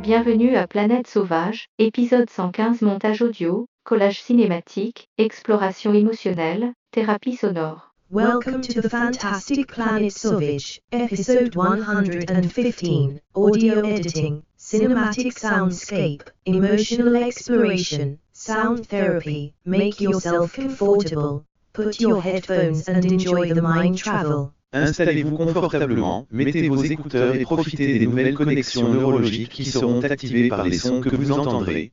Bienvenue à Planète Sauvage, épisode 115 montage audio, collage cinématique, exploration émotionnelle, thérapie sonore. Welcome to the Fantastic Planet Sauvage, episode 115, audio editing, cinematic soundscape, emotional exploration, sound therapy. Make yourself comfortable, put your headphones and enjoy the mind travel. Installez-vous confortablement, mettez vos écouteurs et profitez des nouvelles connexions neurologiques qui seront activées par les sons que vous entendrez.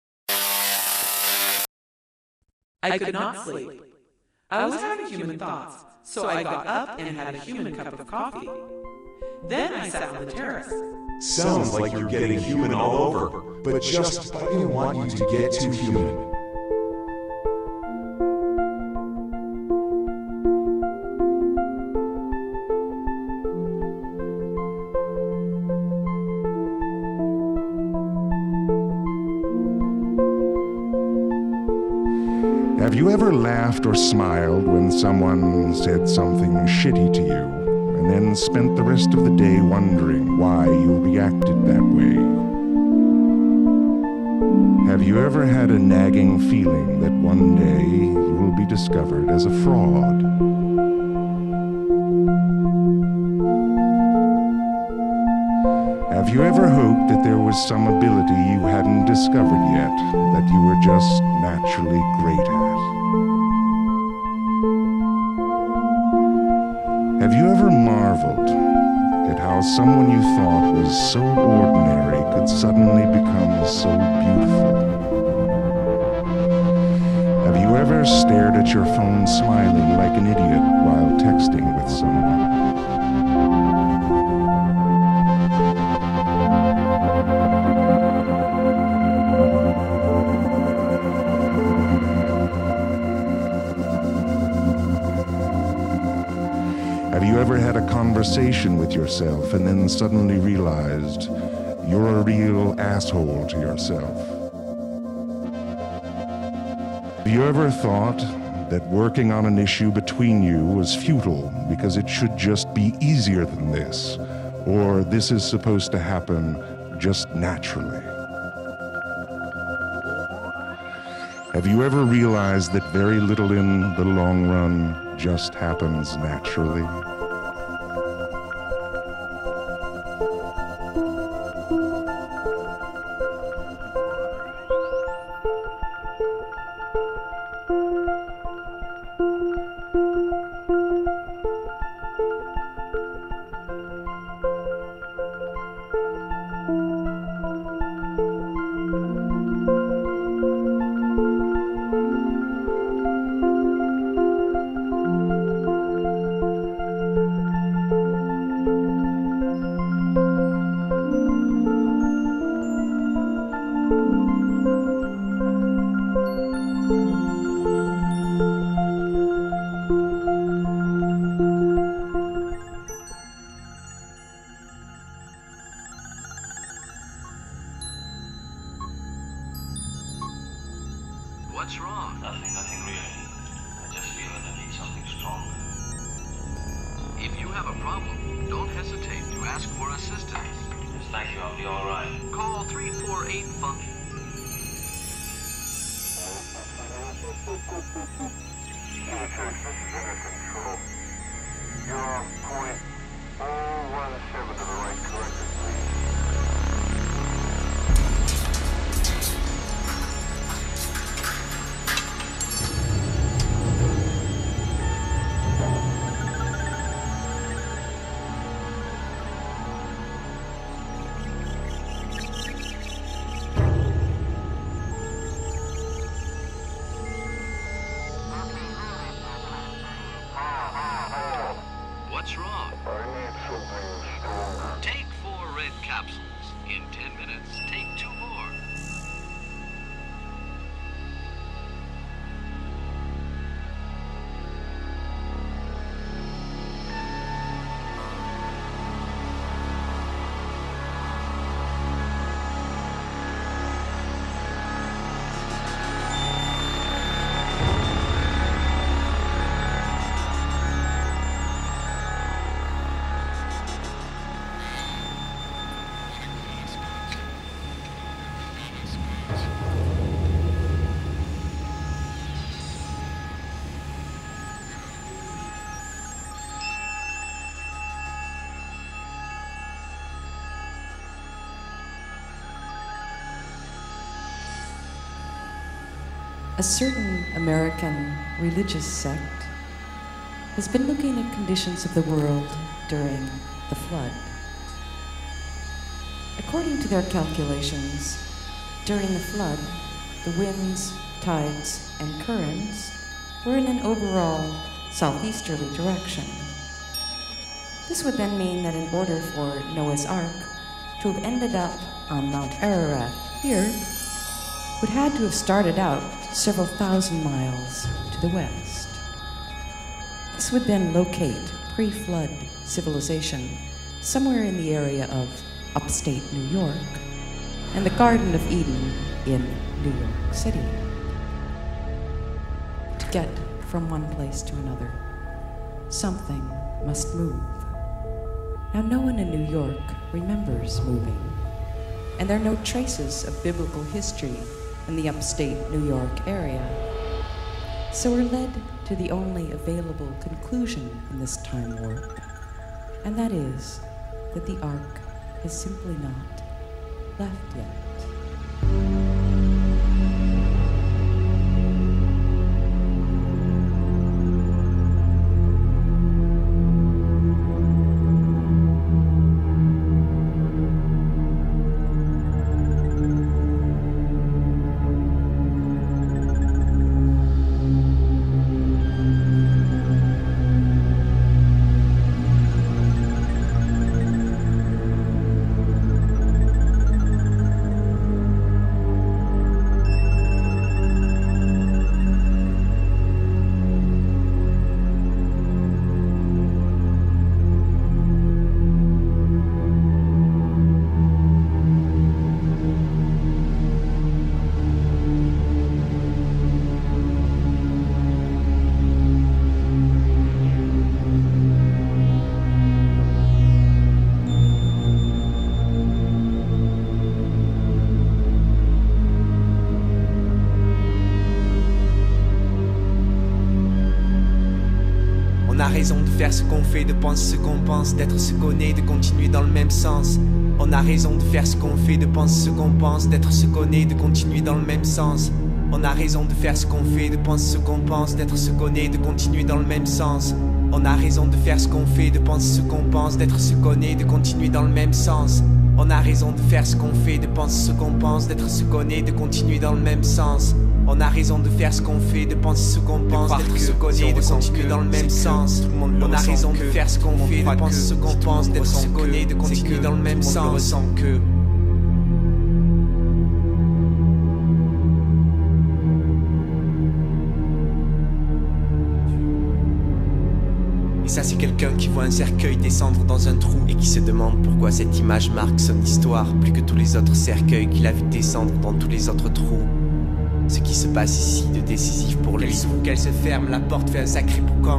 I could not sleep. I was having human thoughts, so I got up and had a human cup of coffee. Then I sat on the terrace. Sounds like you're getting human all over, but I didn't want you to get too human. Have you ever laughed or smiled when someone said something shitty to you, and then spent the rest of the day wondering why you reacted that way? Have you ever had a nagging feeling that one day you will be discovered as a fraud? Have you ever hoped that there was some ability you hadn't discovered yet that you were just naturally great at? Have you ever marveled at how someone you thought was so ordinary could suddenly become so beautiful? Have you ever stared at your phone smiling like an idiot while texting with someone? Have you ever had a conversation with yourself and then suddenly realized you're a real asshole to yourself? Have you ever thought that working on an issue between you was futile because it should just be easier than this, or this is supposed to happen just naturally? Have you ever realized that very little in the long run just happens naturally? What's wrong? Nothing really. I just feel that I need something stronger. If you have a problem, don't hesitate to ask for assistance. Yes, thank you, I'll be alright. Call 348-FUNKY. Control. You're on point 017 to the right, corrected, please. What's wrong? I need something stronger. Take 4 red a certain American religious sect has been looking at conditions of the world during the flood. According to their calculations, during the flood, the winds, tides, and currents were in an overall southeasterly direction. This would then mean that in order for Noah's Ark to have ended up on Mount Ararat here, would had to have started out several thousand miles to the west. This would then locate pre-flood civilization somewhere in the area of upstate New York and the Garden of Eden in New York City. To get from one place to another, something must move. Now, no one in New York remembers moving, and there are no traces of biblical history in the upstate New York area. So we're led to the only available conclusion in this time warp, and that is that the Ark has simply not left yet. On a raison de faire ce qu'on fait, de penser ce qu'on pense, d'être ce qu'on est, de continuer dans le même sens. On a raison de faire ce qu'on fait, de penser ce qu'on pense, d'être ce qu'on est, de continuer dans le même sens. On a raison de faire ce qu'on fait, de penser ce qu'on pense, d'être ce qu'on est, de continuer dans le même sens. On a raison de faire ce qu'on fait, de penser ce qu'on pense, d'être ce qu'on est, de continuer dans le même sens. On a raison de faire ce qu'on fait, de penser ce qu'on pense, d'être ce qu'on est, de continuer dans le même sens. On a raison de faire ce qu'on fait, de penser ce qu'on pense, d'être ce qu'on est, de continuer dans le même sens. On a raison de faire ce qu'on fait, de penser ce qu'on pense, d'être ce qu'on est, de continuer dans le même sens. Et ça c'est quelqu'un qui voit un cercueil descendre dans un trou et qui se demande pourquoi cette image marque son histoire plus que tous les autres cercueils qu'il a vu descendre dans tous les autres trous. Ce qui se passe ici de décisif pour lui. Qu'elle s'ouvre, qu'elle se ferme, la porte fait un sacré boucan.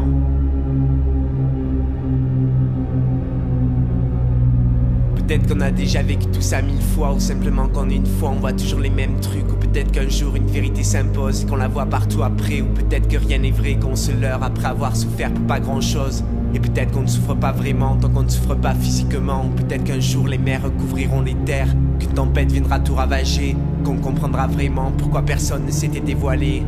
Peut-être qu'on a déjà vécu tout ça 1000 fois, ou simplement qu'en une fois on voit toujours les mêmes trucs, ou peut-être qu'un jour une vérité s'impose et qu'on la voit partout après, ou peut-être que rien n'est vrai, qu'on se leurre après avoir souffert pour pas grand chose. Et peut-être qu'on ne souffre pas vraiment tant qu'on ne souffre pas physiquement, ou peut-être qu'un jour les mers recouvriront les terres, qu'une tempête viendra tout ravager, qu'on comprendra vraiment pourquoi personne ne s'était dévoilé.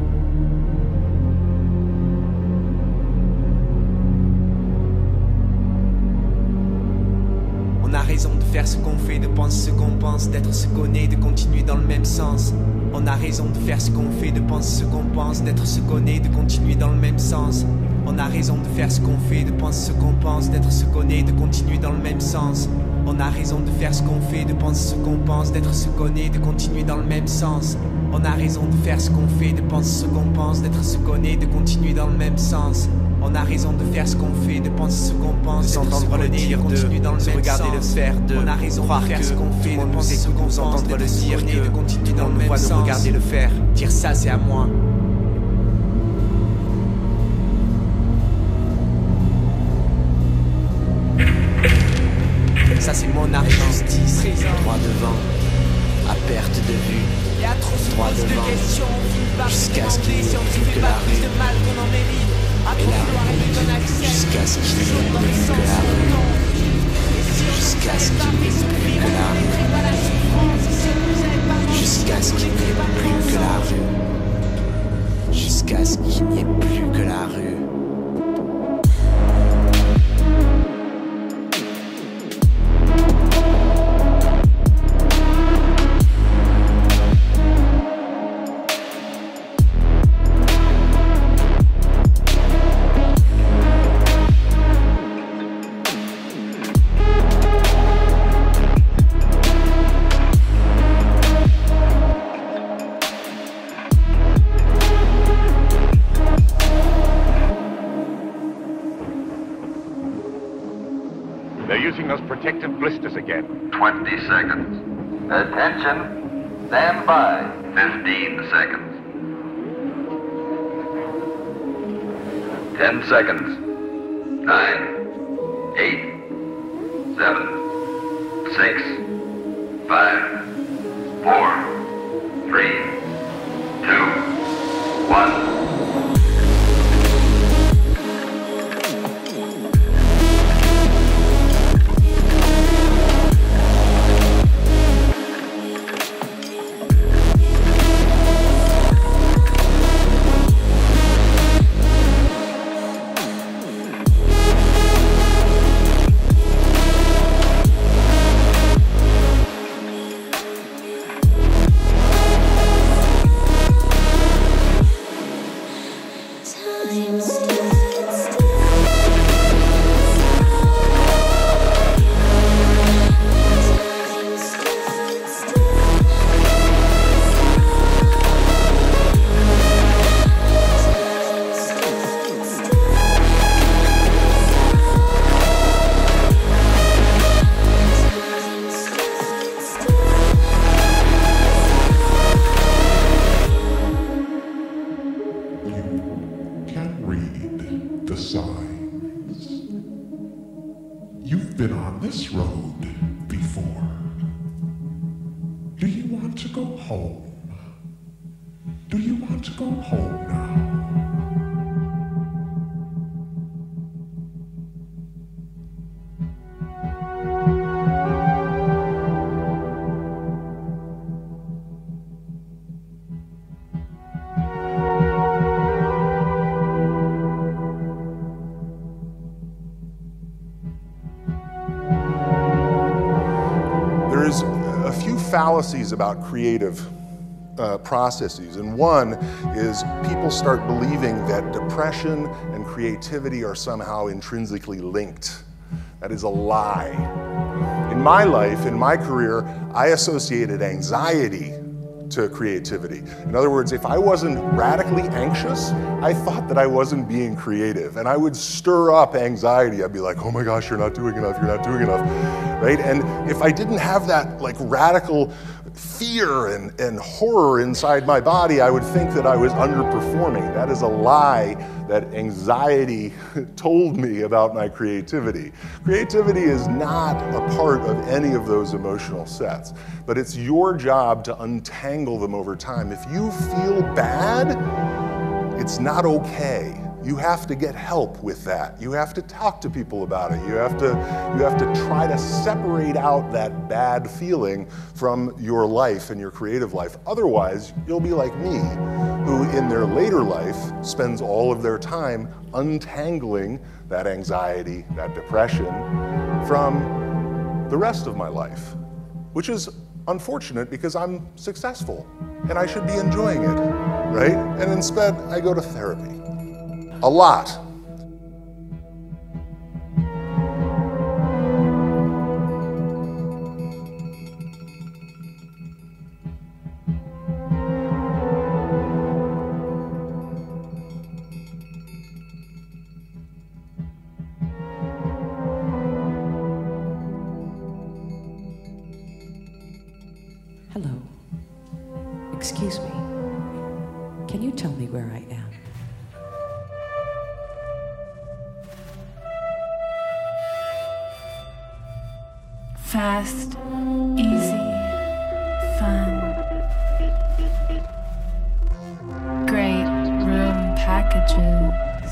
On a raison de faire ce qu'on fait, de penser ce qu'on pense, d'être ce qu'on est, de continuer dans le même sens. On a raison de faire ce qu'on fait, de penser ce qu'on pense, d'être ce qu'on est, de continuer dans le même sens. On a raison de faire ce qu'on fait, de penser ce qu'on pense, d'être ce qu'on est, de continuer dans le même sens. On a raison de faire ce qu'on fait, de penser ce qu'on pense, d'être ce qu'on est, de continuer dans le même sens. On a raison de faire ce qu'on fait, de penser ce qu'on pense, d'être ce qu'on est, de continuer dans le même sens. On a raison de faire ce qu'on fait, de penser ce qu'on pense, d'entendre le dire, de se regarder le faire, de on a raison de faire ce qu'on fait, de penser ce qu'on pense, entendre le dire, de continuer dans le même sens. De regarder le faire, dire ça c'est à moi. Ça c'est mon argent, justice, droit devant, à perte de vue, droit devant, jusqu'à ce qu'il n'y ait plus que la rue, et la rue, jusqu'à ce qu'il n'y ait plus que la rue, jusqu'à ce qu'il n'y ait plus que la rue, jusqu'à ce qu'il n'y ait plus que la rue. jusqu'à ce qu'il n'y ait plus que la rue. They're using those protective blisters again. 20 seconds. Attention. Stand by. 15 seconds. 10 seconds. 9, 8, 7, 6, 5, 4, 3, 2, 1. You've been on this road before. Do you want to go home? Do you want to go home now? There's a few fallacies about creative processes, and one is people start believing that depression and creativity are somehow intrinsically linked. That is a lie. In my life, in my career, I associated anxiety to creativity. In other words, if I wasn't radically anxious, I thought that I wasn't being creative, and I would stir up anxiety. I'd be like, oh my gosh, you're not doing enough, you're not doing enough, right? And if I didn't have that like radical fear and horror inside my body, I would think that I was underperforming. That is a lie that anxiety told me about my creativity. Creativity is not a part of any of those emotional sets, but it's your job to untangle them over time. If you feel bad, it's not okay. You have to get help with that. You have to talk to people about it. You have to try to separate out that bad feeling from your life and your creative life. Otherwise, you'll be like me, who in their later life spends all of their time untangling that anxiety, that depression from the rest of my life, which is unfortunate because I'm successful and I should be enjoying it, right? And instead, I go to therapy. A lot. Hello. Excuse me. Can you tell me where I am? Fast, easy, fun. Great room packages.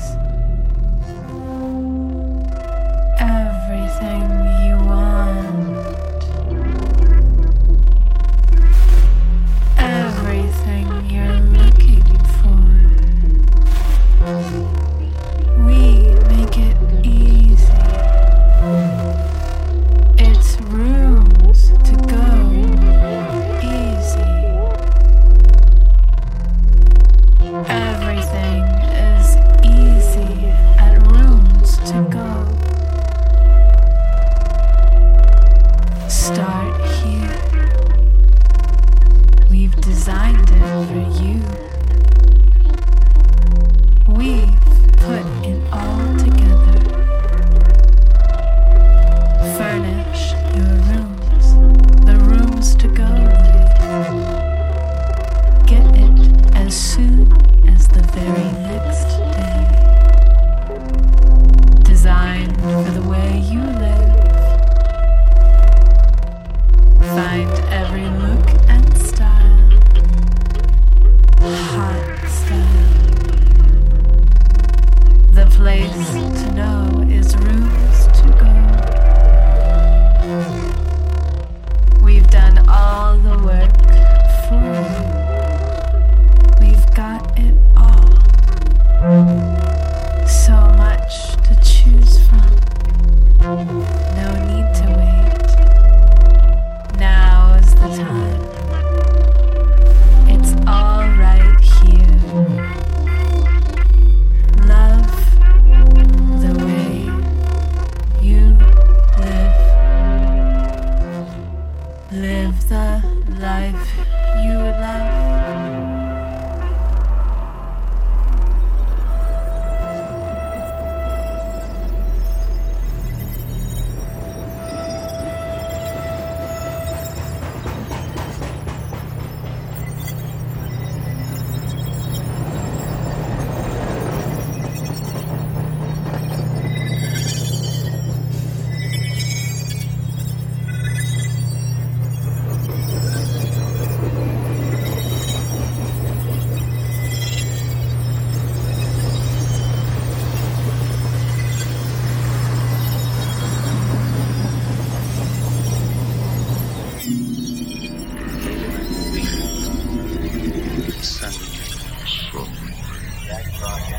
Everything you want. Everything you're looking for.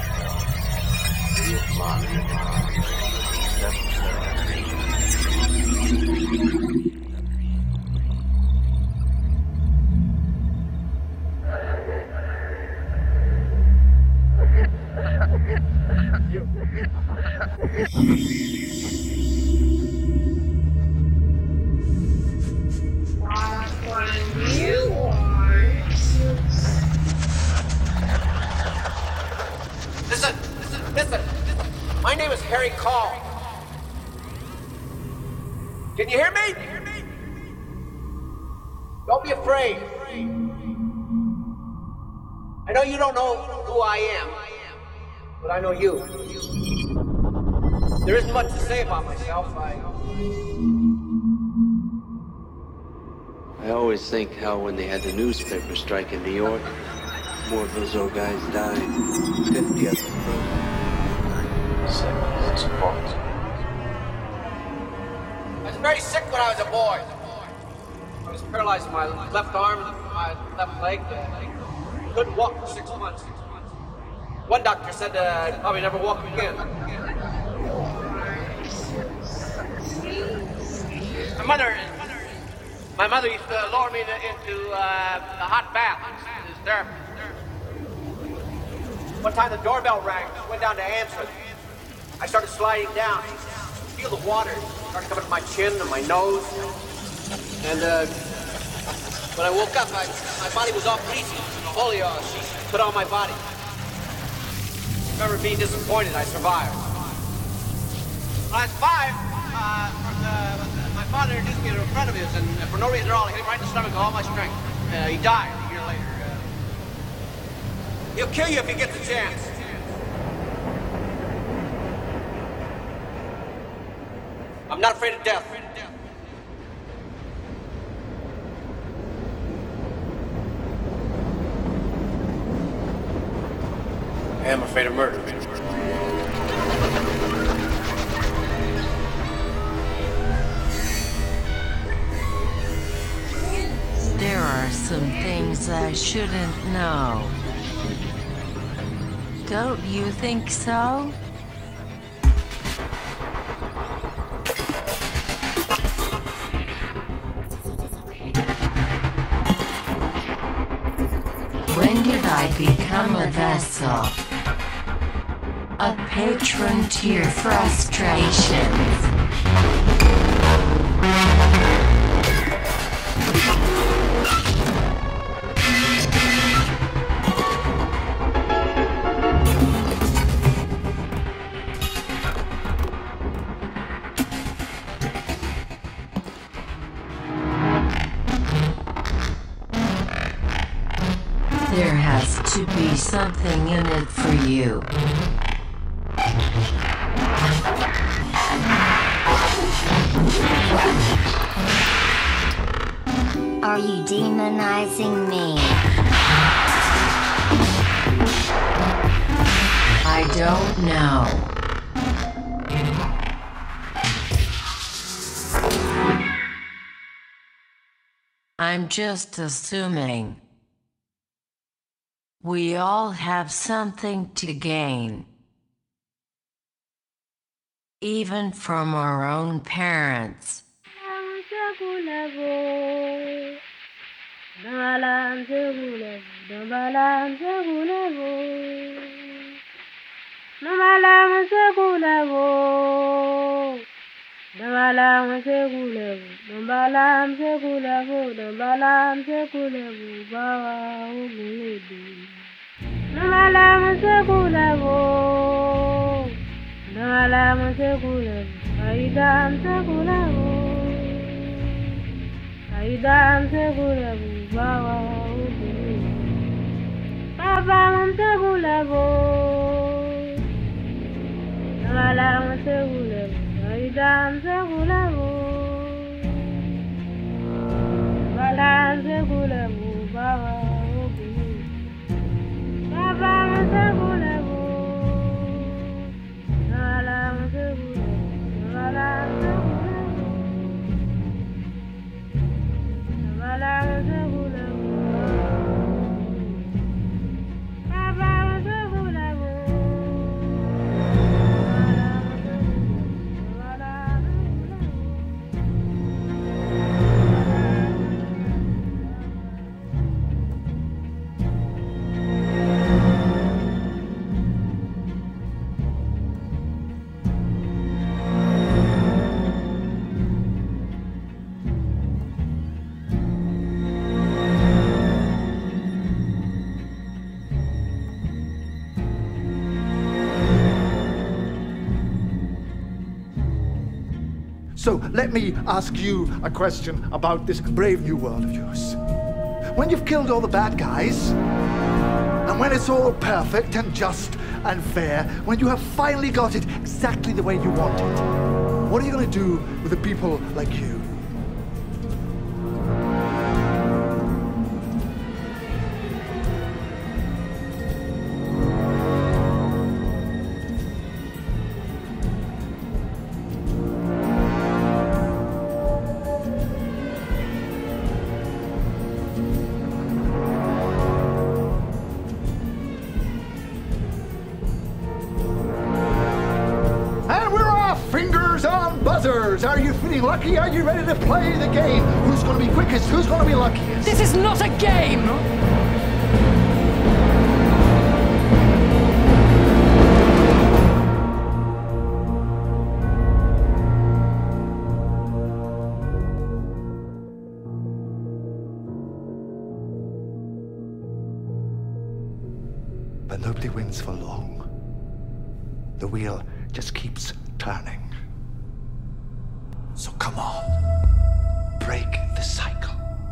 Listen. My name is Harry Call. Can you hear me? Don't be afraid. I know you don't know who I am, but I know you. There isn't much to say about myself. I always think how when they had the newspaper strike in New York, more of those old guys died. 50 of them. 7 years apart. I was very sick when I was a boy. I was paralyzed in my left arm and my left leg. Couldn't walk for 6 months. One doctor said I'd probably never walk again. My mother used to lower me into the hot bath. This therapy. One time the doorbell rang. I went down to answer it. I started sliding down. Feel the water started coming to my chin and my nose. And when I woke up, my body was all greasy. The holy she put on my body. I remember being disappointed I survived. When I was 5, my father introduced me to a friend of his, and for no reason at all, he hit him right in the stomach with all my strength. He died a year later. He'll kill you if he gets a chance. I'm not afraid of death. I am afraid of murder. There are some things I shouldn't know. Don't you think so? When did I become a vessel? A patron to your frustrations. There has to be something in it for you. Are you demonizing me? I don't know. I'm just assuming. We all have something to gain. Even from our own parents. So let me ask you a question about this brave new world of yours. When you've killed all the bad guys, and when it's all perfect and just and fair, when you have finally got it exactly the way you want it, what are you going to do with the people like you? Are you feeling lucky? Are you ready to play the game? Who's going to be quickest? Who's going to be luckiest? This is not a game! But nobody wins for long. The wheel just keeps turning. So come on, break the cycle.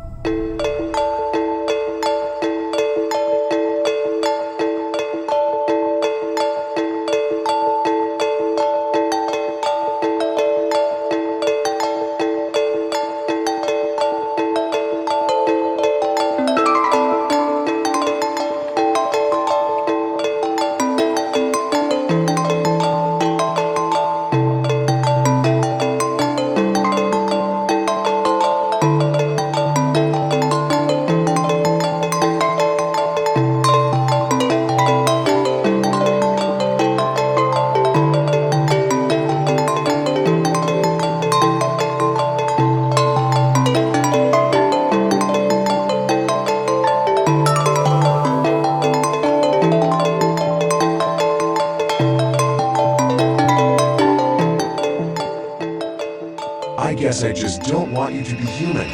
I guess I just don't want you to be human.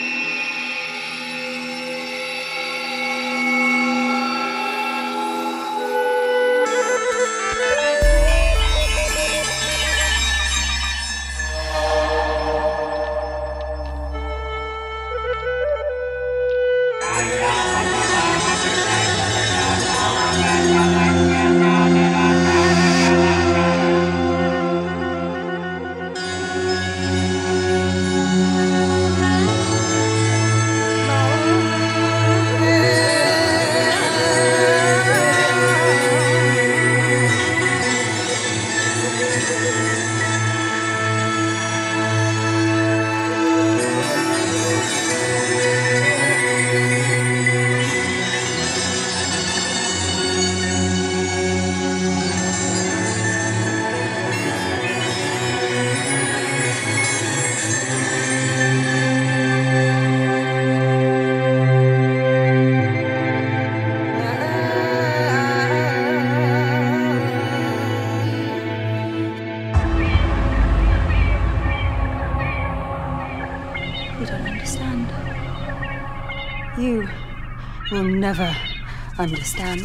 You don't understand. You will never understand.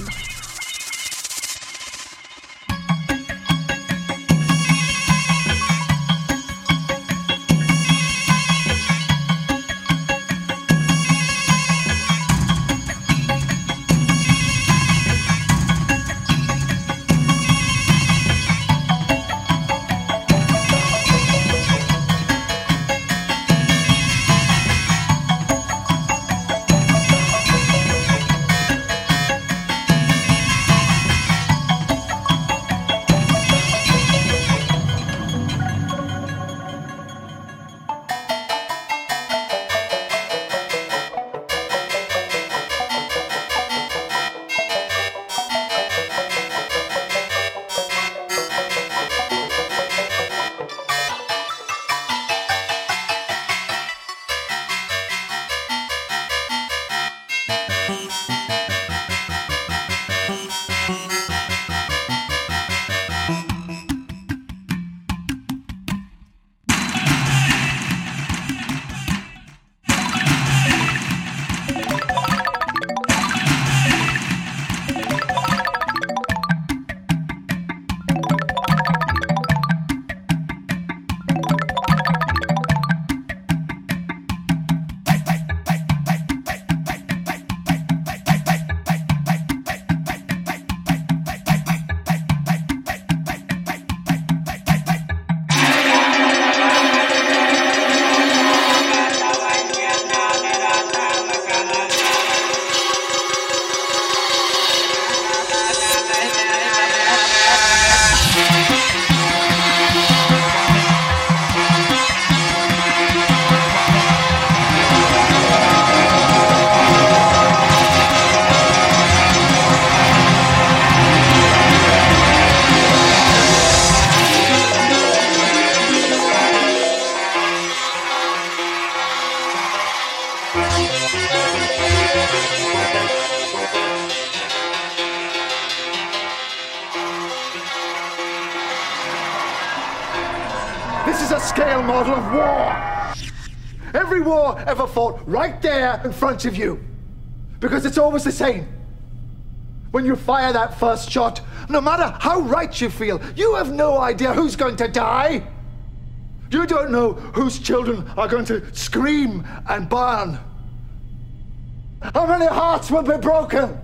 This is a scale model of war. Every war ever fought right there in front of you. Because it's always the same. When you fire that first shot, no matter how right you feel, you have no idea who's going to die. You don't know whose children are going to scream and burn. How many hearts will be broken?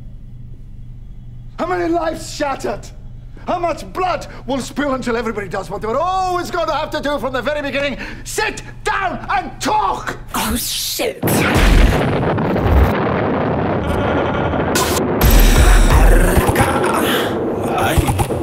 How many lives shattered? How much blood will spill until everybody does what they were always going to have to do from the very beginning? Sit down and talk! Oh, shit. Ay.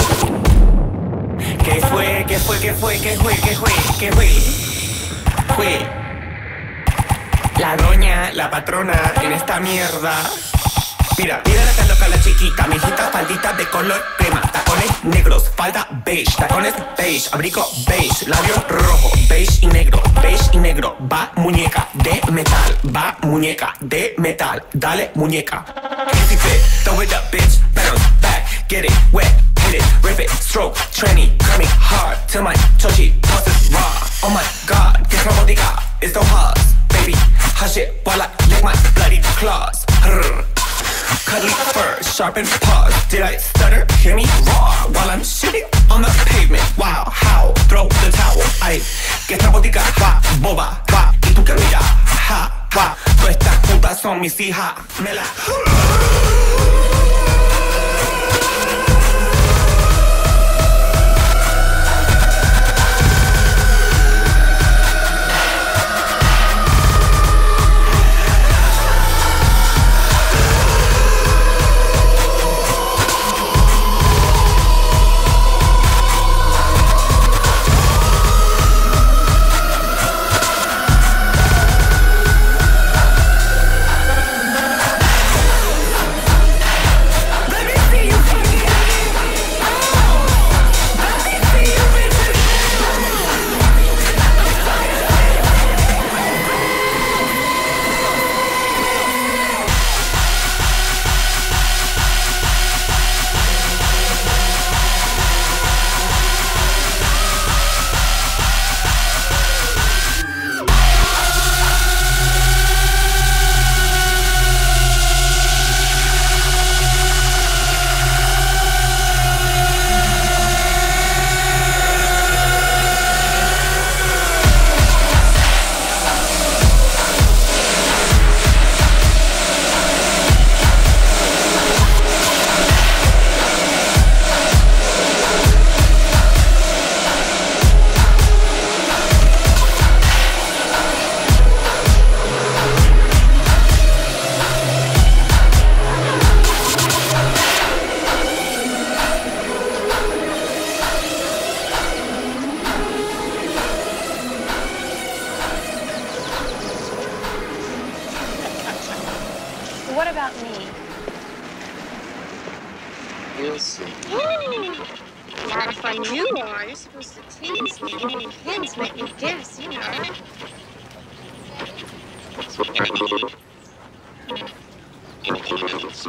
¿Qué fue? ¿Qué fue? ¿Qué fue? ¿Qué fue? ¿Qué fue? ¿Qué fue? Fue la doña, la patrona en esta mierda. Mira, mira la tan loca la chiquita, mijita, faldita de color crema, tacones negros, falda beige, tacones beige, abrigo beige, labio rojo, beige y negro, va muñeca de metal, va muñeca de metal, dale muñeca. Easy fit, throw it up bitch, bounce back, get it wet, hit it, rip it, stroke, tranny, coming hard, till my chochi tosses raw, oh my god, que robótica, it's so hard, baby, hush it while I lick my bloody claws. Cuddly fur, sharpened paws. Did I stutter? Hear me roar while I'm shitting on the pavement. Wow, how? Throw the towel. Ay, que esta botica va, boba, va. Y tú que mira, ja, va. Todas estas putas son mis hijas. Me la... What about me? You'll see. Not if I knew more. You're supposed to tease me, give me hints, make me guess, you know. That's what I need. Anything else?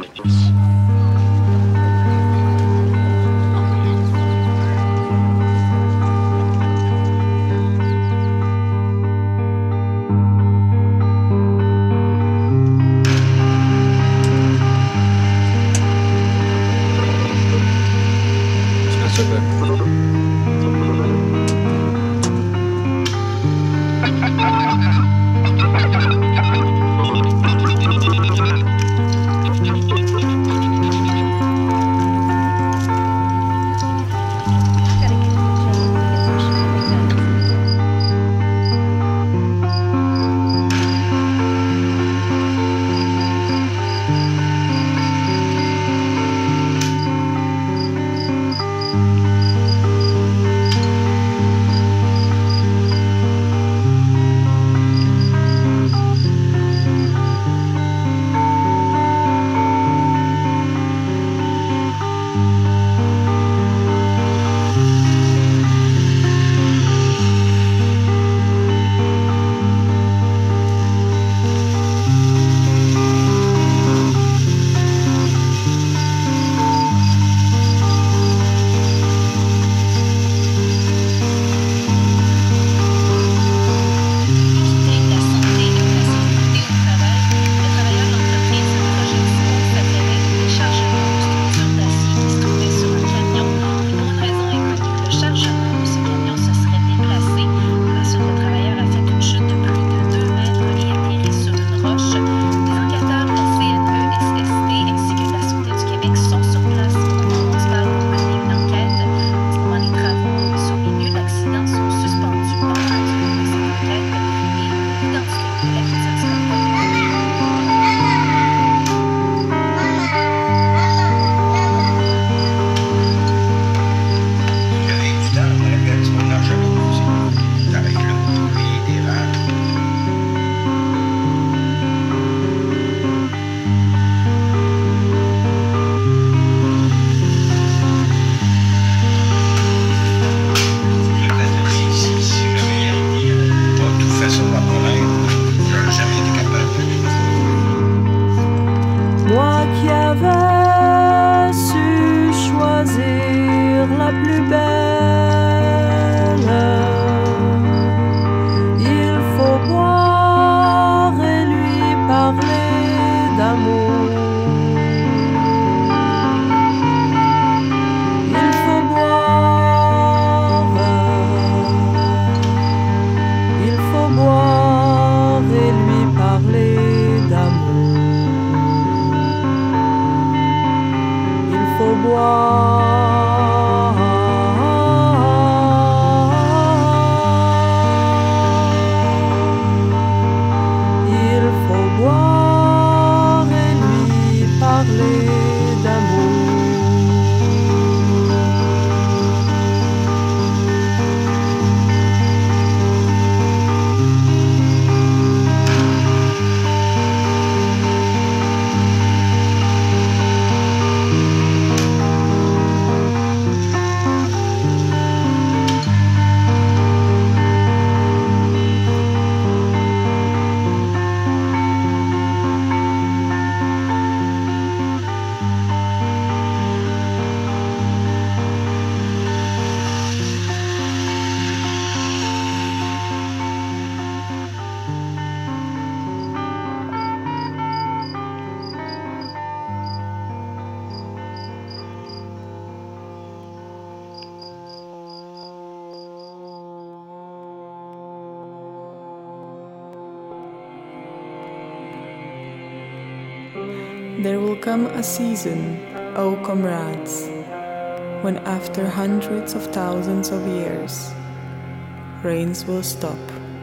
There will come a season, O comrades, when after hundreds of thousands of years, rains will stop.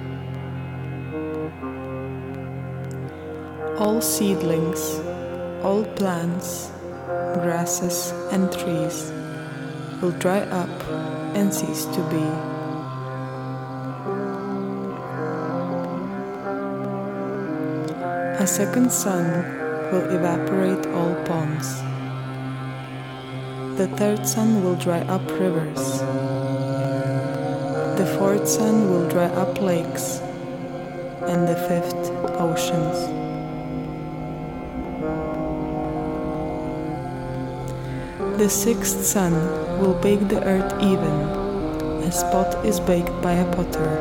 All seedlings, all plants, grasses and trees will dry up and cease to be. A second sun will evaporate all ponds. The third sun will dry up rivers. The fourth sun will dry up lakes, and the fifth oceans. The sixth sun will bake the earth even, as pot is baked by a potter.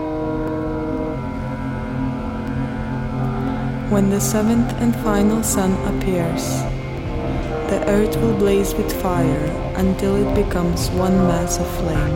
When the seventh and final sun appears, the earth will blaze with fire until it becomes one mass of flame.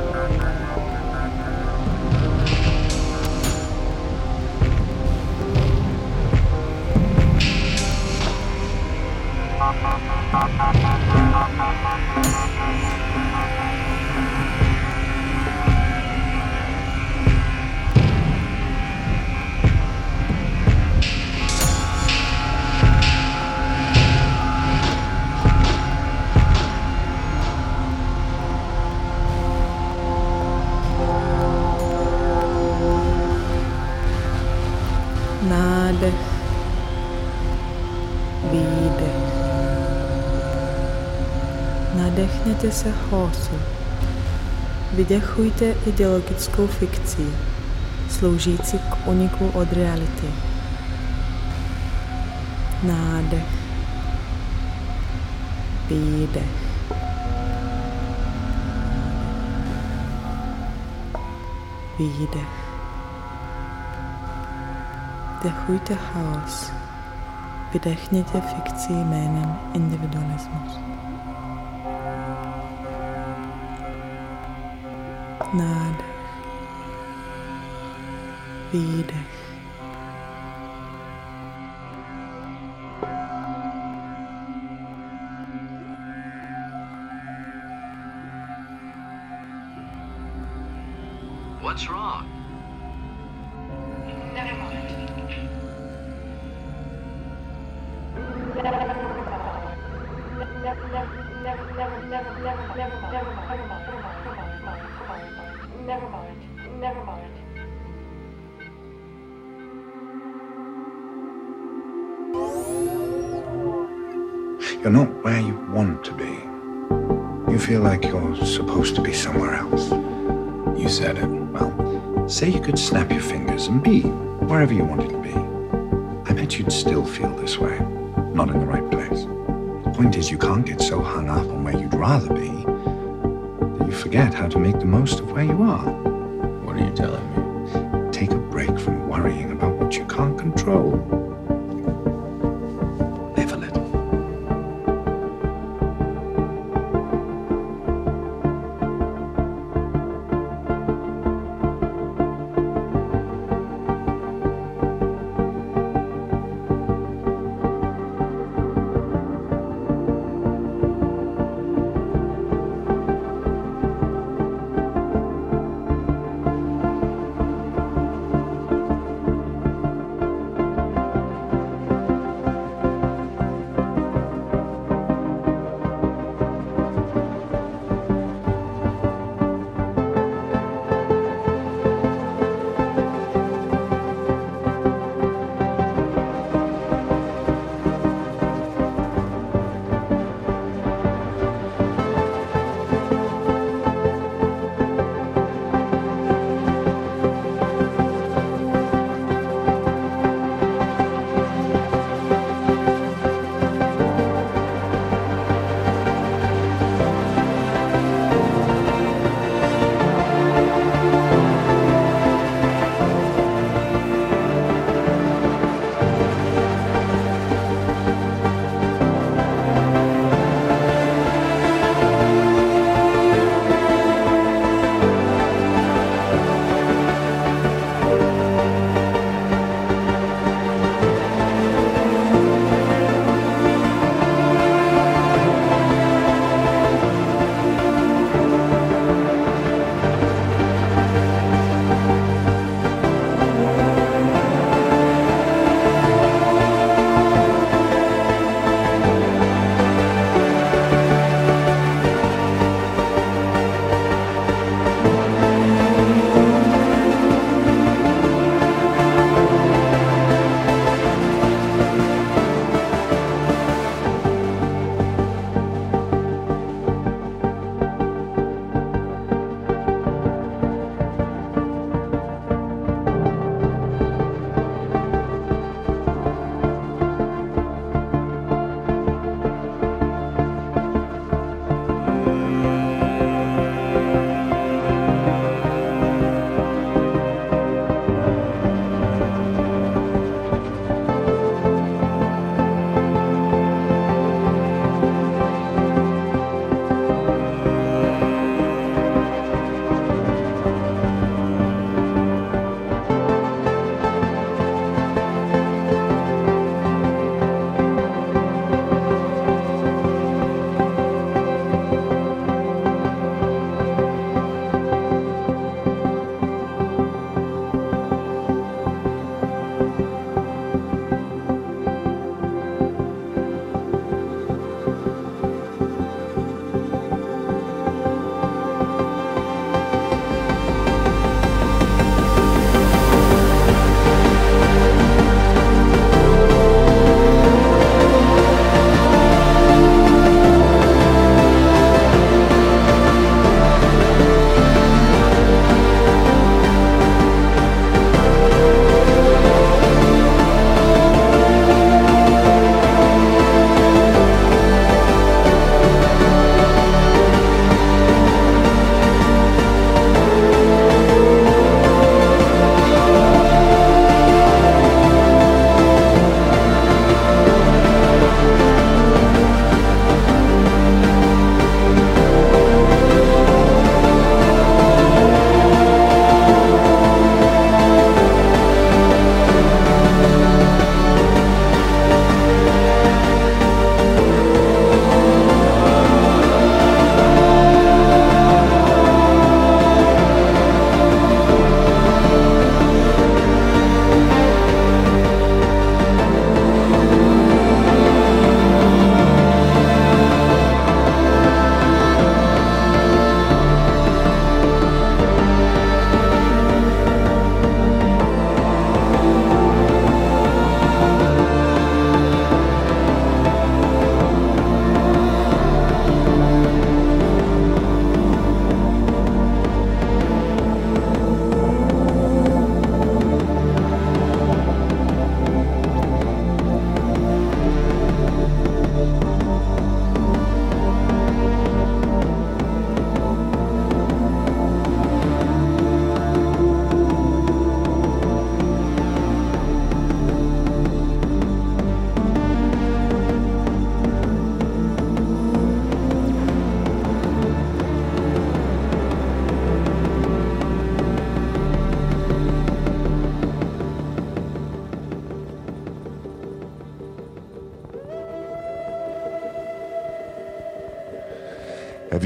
Nádech, výdech. Nadechněte se chaosu. Vydechujte ideologickou fikci, sloužící k úniku od reality. Nádech, výdech. Výdech. Vdechujte chaos, vydechněte fikci jménem individualismus. Nádech, výdech. What's wrong? Never mind. Never mind. You're not where you want to be. You feel like you're supposed to be somewhere else. You said it. Well, say you could snap your fingers and be wherever you wanted to be. I bet you'd still feel this way. Not in the right place. The point is, you can't get so hung up on where you'd rather be that you forget how to make the most of where you are. What are you telling me? Take a break from worrying about what you can't control. Live a little.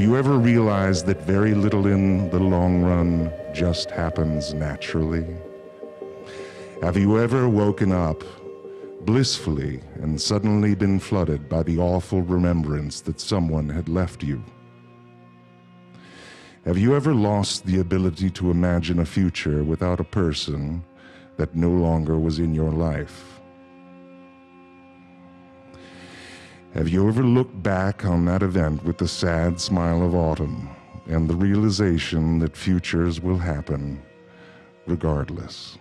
you ever realized that very little in the long run just happens naturally? Have you ever woken up blissfully and suddenly been flooded by the awful remembrance that someone had left you? Have you ever lost the ability to imagine a future without a person that no longer was in your life? Have you ever looked back on that event with the sad smile of autumn and the realization that futures will happen regardless?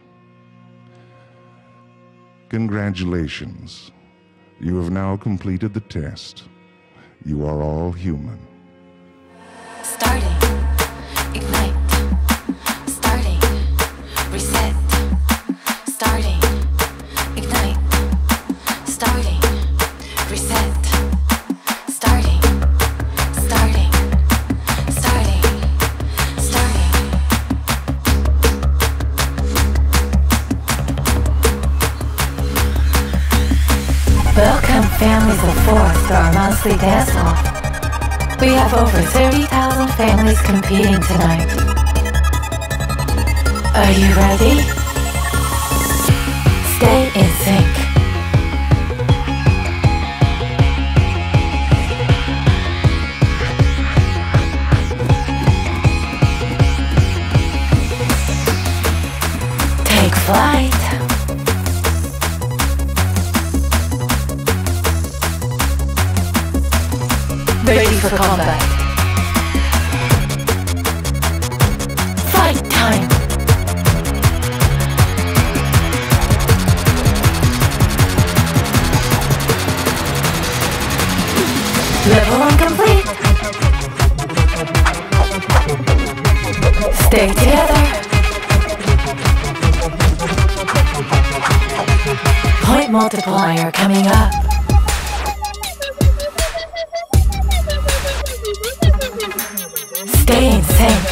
Congratulations. You have now completed the test. You are all human. Starting, ignite, starting, reset, starting, ignite, starting, reset, starting, starting, starting, starting. Welcome families of four to our monthly dance-off. We have over 30,000 families competing tonight. Are you ready? Stay in sync. Take flight. Ready for combat. Fight time. Level 1 complete. Stay together. Point multiplier coming up. Stay in sync.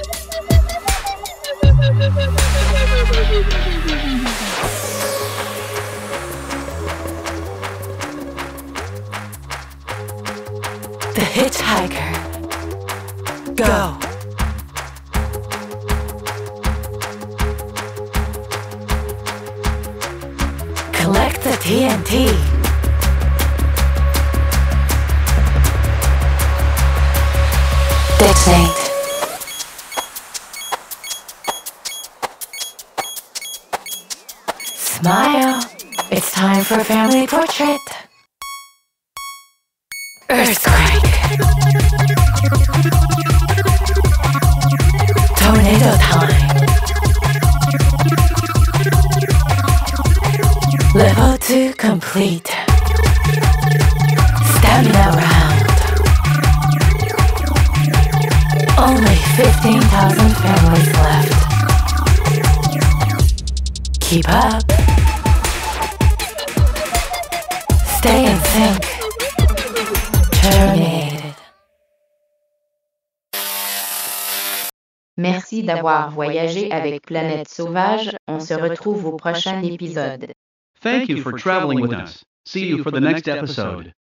The Hitchhiker. Go. Collect the TNT. Detonate. Smile. It's time for a family portrait. Earthquake. Tornado time. Level 2 complete. Stamina round. Only 15,000 families left. Keep up. Stay in sync. Terminated. Merci d'avoir voyagé avec Planète Sauvage. On se retrouve au prochain épisode. Thank you for traveling with us. See you for the next episode.